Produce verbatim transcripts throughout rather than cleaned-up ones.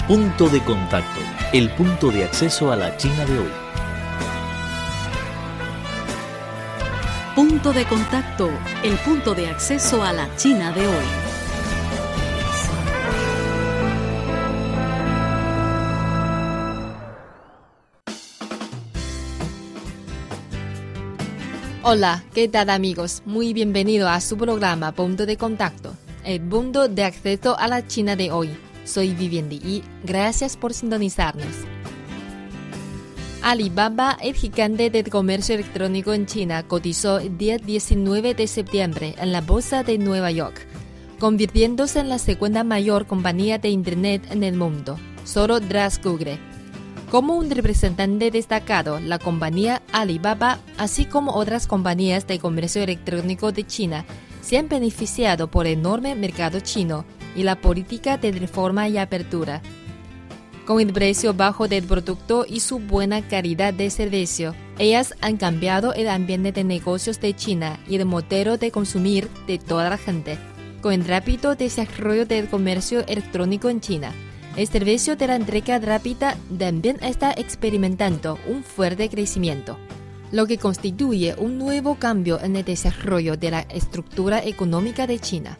Punto de contacto, el punto de acceso a la China de hoy. Punto de contacto, el punto de acceso a la China de hoy. Hola, ¿qué tal amigos? Muy bienvenido a su programa Punto de Contacto, el punto de acceso a la China de hoy. Soy Vivian Li, gracias por sintonizarnos. Alibaba, el gigante del comercio electrónico en China, cotizó el día diecinueve de septiembre en la bolsa de Nueva York, convirtiéndose en la segunda mayor compañía de Internet en el mundo, solo tras Google. Como un representante destacado, la compañía Alibaba, así como otras compañías de comercio electrónico de China, se han beneficiado por el enorme mercado chino y la política de reforma y apertura. Con el precio bajo del producto y su buena calidad de servicio, ellas han cambiado el ambiente de negocios de China y el modelo de consumir de toda la gente. Con el rápido desarrollo del comercio electrónico en China, el servicio de la entrega rápida también está experimentando un fuerte crecimiento, lo que constituye un nuevo cambio en el desarrollo de la estructura económica de China.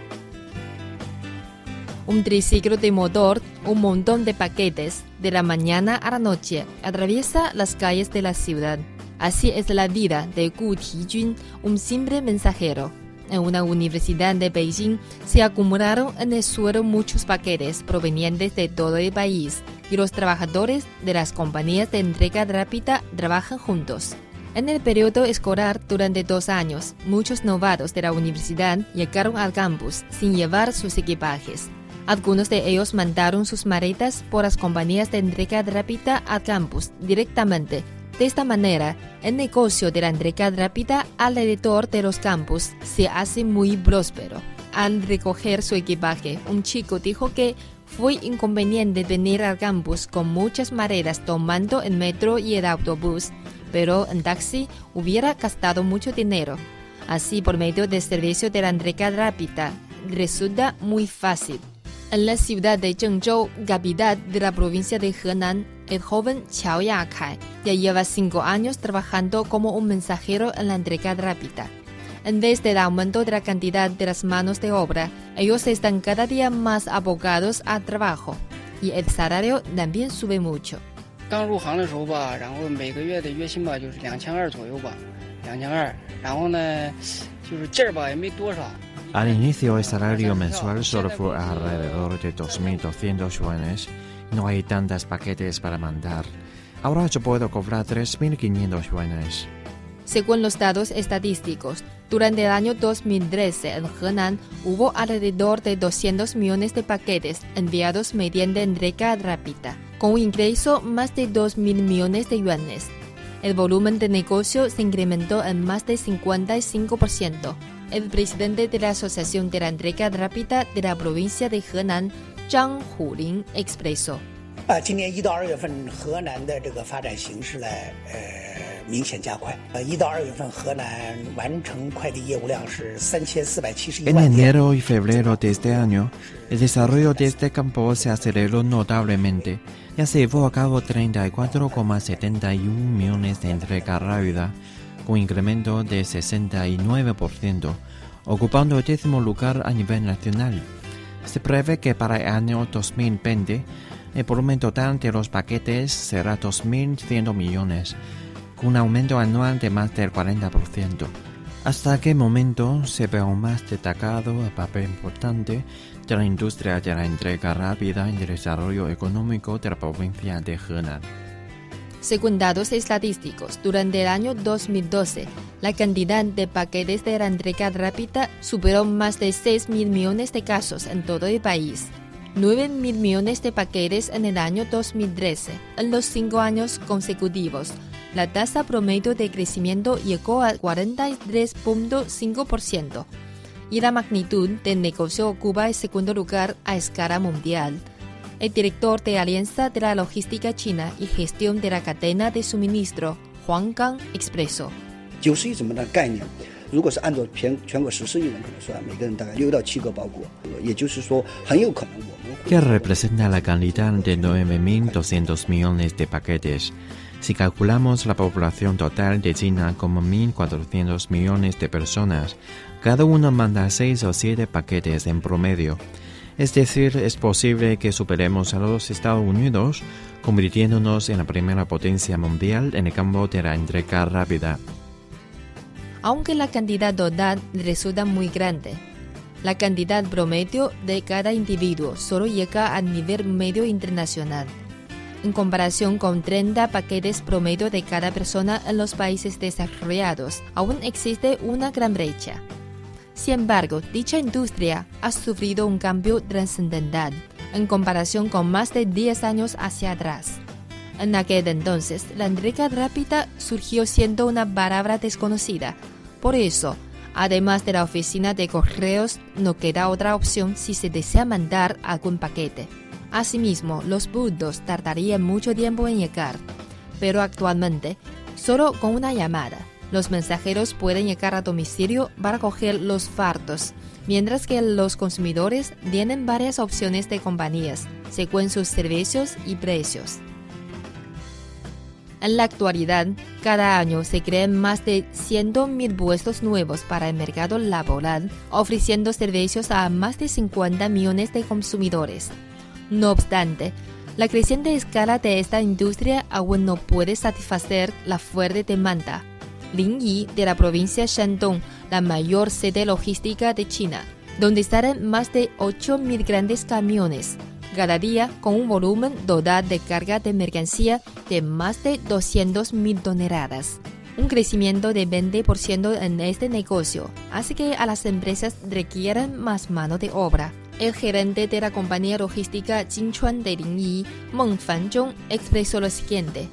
Un triciclo de motor, un montón de paquetes, de la mañana a la noche, atraviesa las calles de la ciudad. Así es la vida de Gu Tijun, un simple mensajero. En una universidad de Beijing se acumularon en el suelo muchos paquetes provenientes de todo el país y los trabajadores de las compañías de entrega rápida trabajan juntos. En el periodo escolar, durante dos años, muchos novatos de la universidad llegaron al campus sin llevar sus equipajes. Algunos de ellos mandaron sus maletas por las compañías de entrega rápida al campus directamente. De esta manera, el negocio de la entrega rápida alrededor de los campus se hace muy próspero. Al recoger su equipaje, un chico dijo que fue inconveniente venir al campus con muchas maletas tomando el metro y el autobús, pero en taxi hubiera gastado mucho dinero. Así, por medio del servicio de la entrega rápida, resulta muy fácil. En la ciudad de Zhengzhou, capital de la provincia de Henan, el joven Qiao Yakai ya lleva cinco años trabajando como un mensajero en la entrega rápida. En vez del aumento de la cantidad de las manos de obra, ellos están cada día más abocados al trabajo y el salario también sube mucho. Al inicio el salario mensual solo fue alrededor de dos mil doscientos yuanes. No hay tantos paquetes para mandar. Ahora yo puedo cobrar tres mil quinientos yuanes. Según los datos estadísticos, durante el año dos mil trece en Henan hubo alrededor de doscientos millones de paquetes enviados mediante entrega rápida, con un ingreso más de dos mil millones de yuanes. El volumen de negocio se incrementó en más de cincuenta y cinco por ciento. El presidente de la Asociación de la Entrega Rápida de la provincia de Henan, Zhang Hulin, expresó. En enero y febrero de este año, el desarrollo de este campo se aceleró notablemente. Ya se llevó a cabo treinta y cuatro coma setenta y uno millones de entrega rápida, con incremento de sesenta y nueve por ciento, ocupando el décimo lugar a nivel nacional. Se prevé que para el año dos mil veinte, el volumen total de los paquetes será dos mil cien millones, con un aumento anual de más del cuarenta por ciento. Hasta aquel momento se ve aún más destacado el papel importante de la industria de la entrega rápida en el desarrollo económico de la provincia de Henan. Según datos estadísticos, durante el año dos mil doce, la cantidad de paquetes de la entrega rápida superó más de seis mil millones de casos en todo el país. nueve mil millones de paquetes en el año dos mil trece. En los cinco años consecutivos, la tasa promedio de crecimiento llegó al cuarenta y tres punto cinco por ciento y la magnitud del negocio ocupa el segundo lugar a escala mundial. El director de Alianza de la Logística China y Gestión de la Cadena de Suministro, Huang Gang, expresó. 如果是按照全全国十四亿人口来算，每个人大概六到七个包裹，也就是说，很有可能我们会。 Que representa la cantidad de nueve mil doscientos millones de paquetes. Si calculamos la población total de China como mil cuatrocientos millones de personas, cada uno manda seis o siete paquetes en promedio. Es decir, es posible que superemos a los Estados Unidos, convirtiéndonos en la primera potencia mundial en el campo de la entrega rápida. Aunque la cantidad total resulta muy grande, la cantidad promedio de cada individuo solo llega al nivel medio internacional. En comparación con treinta paquetes promedio de cada persona en los países desarrollados, aún existe una gran brecha. Sin embargo, dicha industria ha sufrido un cambio trascendental en comparación con más de diez años hacia atrás. En aquel entonces, la entrega rápida surgió siendo una palabra desconocida. Por eso, además de la oficina de correos, no queda otra opción si se desea mandar algún paquete. Asimismo, los bultos tardarían mucho tiempo en llegar, pero actualmente, solo con una llamada, los mensajeros pueden llegar a domicilio para coger los fardos, mientras que los consumidores tienen varias opciones de compañías, según sus servicios y precios. En la actualidad, cada año se crean más de cien mil puestos nuevos para el mercado laboral, ofreciendo servicios a más de cincuenta millones de consumidores. No obstante, la creciente escala de esta industria aún no puede satisfacer la fuerte demanda. Linyi, de la provincia Shandong, la mayor sede logística de China, donde salen más de ocho mil grandes camiones, cada día con un volumen total de carga de mercancía de más de doscientas mil toneladas. Un crecimiento de veinte por ciento en este negocio hace que a las empresas requieran más mano de obra. El gerente de la compañía logística Jinchuan de Linyi, Meng Fanzhong, expresó lo siguiente.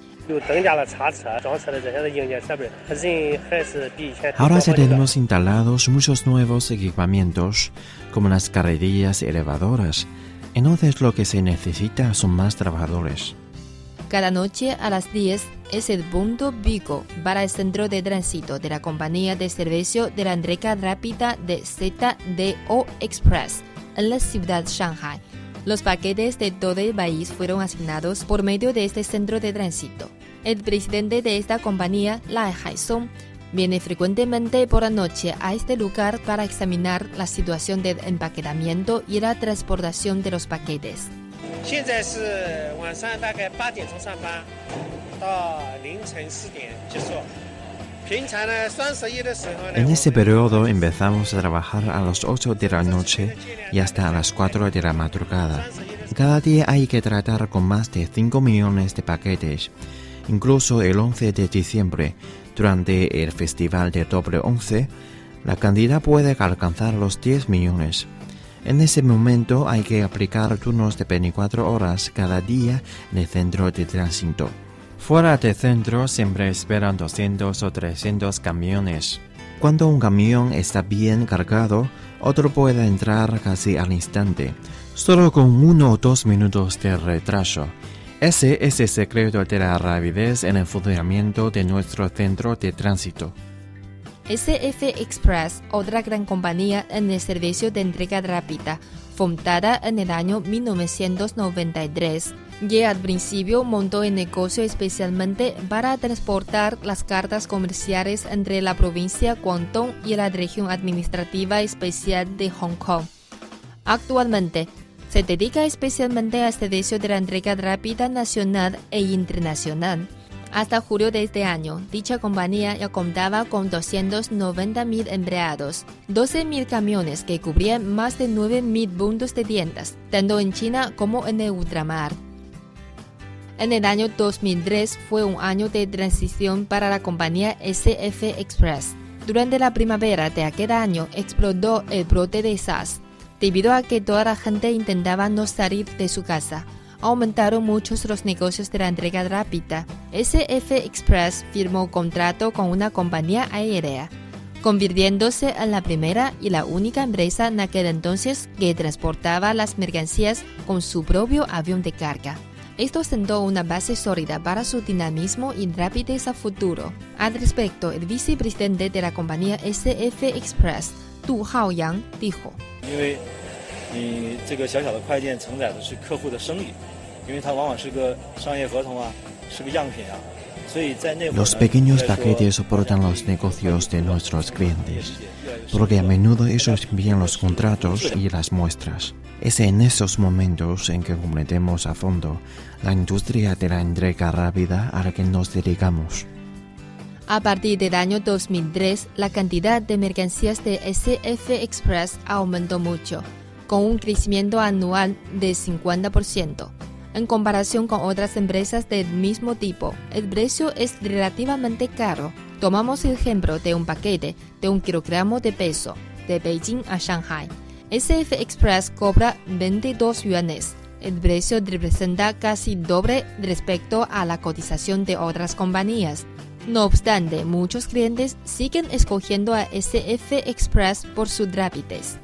Ahora ya tenemos instalados muchos nuevos equipamientos, como las carretillas elevadoras. Entonces lo que se necesita son más trabajadores. Cada noche a las diez es el punto pico para el centro de tránsito de la compañía de servicio de la entrega rápida de Z D O Express en la ciudad de Shanghai. Los paquetes de todo el país fueron asignados por medio de este centro de tránsito. El presidente de esta compañía, Lai Haisong, viene frecuentemente por la noche a este lugar para examinar la situación del empaquetamiento y la transportación de los paquetes. En ese periodo empezamos a trabajar a las ocho de la noche y hasta a las cuatro de la madrugada. Cada día hay que tratar con más de cinco millones de paquetes. Incluso el once de diciembre, durante el festival de doble once, la cantidad puede alcanzar los diez millones. En ese momento hay que aplicar turnos de veinticuatro horas cada día en el centro de tránsito. Fuera del centro siempre esperan doscientos o trescientos camiones. Cuando un camión está bien cargado, otro puede entrar casi al instante, solo con uno o dos minutos de retraso. Ese es el secreto de la rapidez en el funcionamiento de nuestro centro de tránsito. S F Express, otra gran compañía en el servicio de entrega rápida, fundada en el año mil novecientos noventa y tres, que al principio montó el negocio especialmente para transportar las cartas comerciales entre la provincia Guangdong y la región administrativa especial de Hong Kong. Actualmente, se dedica especialmente al servicio de la entrega rápida nacional e internacional. Hasta julio de este año, dicha compañía ya contaba con doscientos noventa mil empleados, doce mil camiones que cubrían más de nueve mil puntos de tiendas, tanto en China como en el ultramar. En el año dos mil tres fue un año de transición para la compañía S F Express. Durante la primavera de aquel año explotó el brote de SARS. Debido a que toda la gente intentaba no salir de su casa, aumentaron muchos los negocios de la entrega rápida. S F Express firmó contrato con una compañía aérea, convirtiéndose en la primera y la única empresa en aquel entonces que transportaba las mercancías con su propio avión de carga. Esto sentó una base sólida para su dinamismo y rapidez a futuro. Al respecto, el vicepresidente de la compañía S F Express, Du Haoyang, dijo: Los pequeños paquetes soportan los negocios de nuestros clientes, porque a menudo ellos envían los contratos y las muestras. Es en esos momentos en que comprendemos a fondo la industria de la entrega rápida a la que nos dedicamos. A partir del año dos mil tres, la cantidad de mercancías de S F Express aumentó mucho, con un crecimiento anual de cincuenta por ciento. En comparación con otras empresas del mismo tipo, el precio es relativamente caro. Tomamos el ejemplo de un paquete de un kilogramo de peso, de Beijing a Shanghai. S F Express cobra veintidós yuanes. El precio representa casi doble respecto a la cotización de otras compañías. No obstante, muchos clientes siguen escogiendo a S F Express por su rapidez.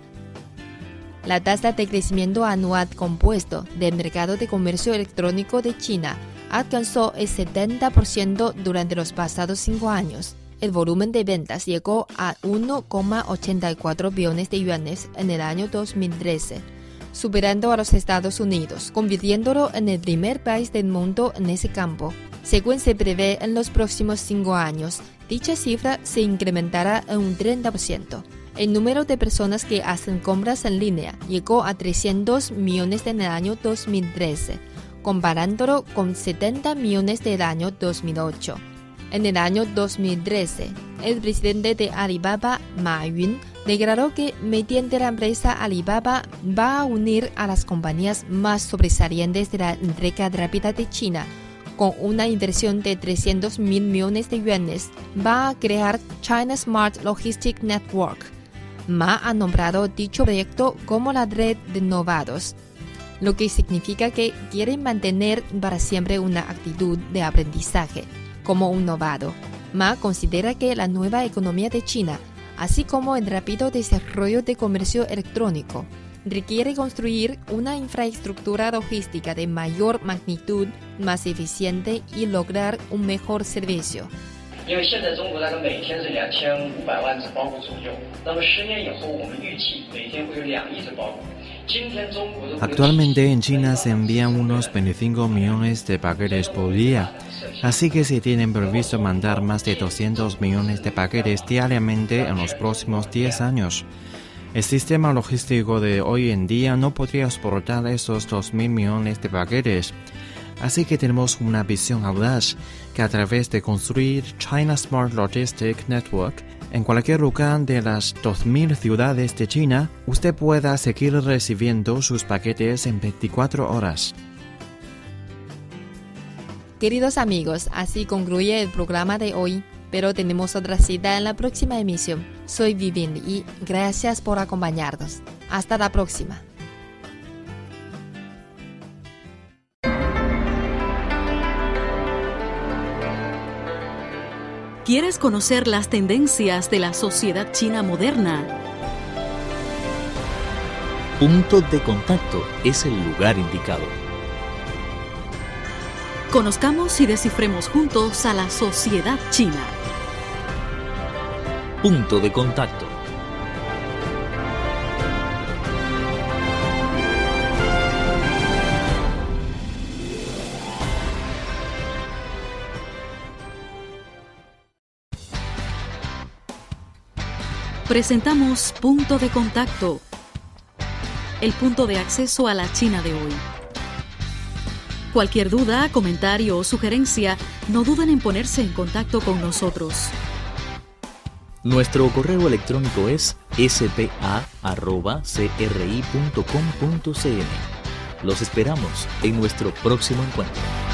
La tasa de crecimiento anual compuesto del mercado de comercio electrónico de China alcanzó el setenta por ciento durante los pasados cinco años. El volumen de ventas llegó a uno coma ochenta y cuatro billones de yuanes en el año dos mil trece, superando a los Estados Unidos, convirtiéndolo en el primer país del mundo en ese campo. Según se prevé en los próximos cinco años, dicha cifra se incrementará en un treinta por ciento. El número de personas que hacen compras en línea llegó a trescientos millones en el año dos mil trece, comparándolo con setenta millones del año dos mil ocho. En el año dos mil trece, el presidente de Alibaba, Ma Yun, declaró que mediante la empresa Alibaba va a unir a las compañías más sobresalientes de la entrega rápida de China. Con una inversión de trescientos mil millones de yuanes, va a crear China Smart Logistics Network. Ma ha nombrado dicho proyecto como la red de novados, lo que significa que quieren mantener para siempre una actitud de aprendizaje. Como un novado, Ma considera que la nueva economía de China, así como el rápido desarrollo de comercio electrónico, requiere construir una infraestructura logística de mayor magnitud, más eficiente y lograr un mejor servicio. Actualmente en China se envían unos veinticinco millones de paquetes por día, así que se tienen previsto mandar más de doscientos millones de paquetes diariamente en los próximos diez años. El sistema logístico de hoy en día no podría soportar esos dos mil millones de paquetes. Así que tenemos una visión audaz que a través de construir China Smart Logistics Network en cualquier lugar de las dos mil ciudades de China, usted pueda seguir recibiendo sus paquetes en veinticuatro horas. Queridos amigos, así concluye el programa de hoy, pero tenemos otra cita en la próxima emisión. Soy Vivien y gracias por acompañarnos. Hasta la próxima. ¿Quieres conocer las tendencias de la sociedad china moderna? Punto de Contacto es el lugar indicado. Conozcamos y descifremos juntos a la sociedad china. Punto de Contacto. Presentamos Punto de Contacto, el punto de acceso a la China de hoy. Cualquier duda, comentario o sugerencia, no duden en ponerse en contacto con nosotros. Nuestro correo electrónico es s p a arroba c r i punto com punto c n. Los esperamos en nuestro próximo encuentro.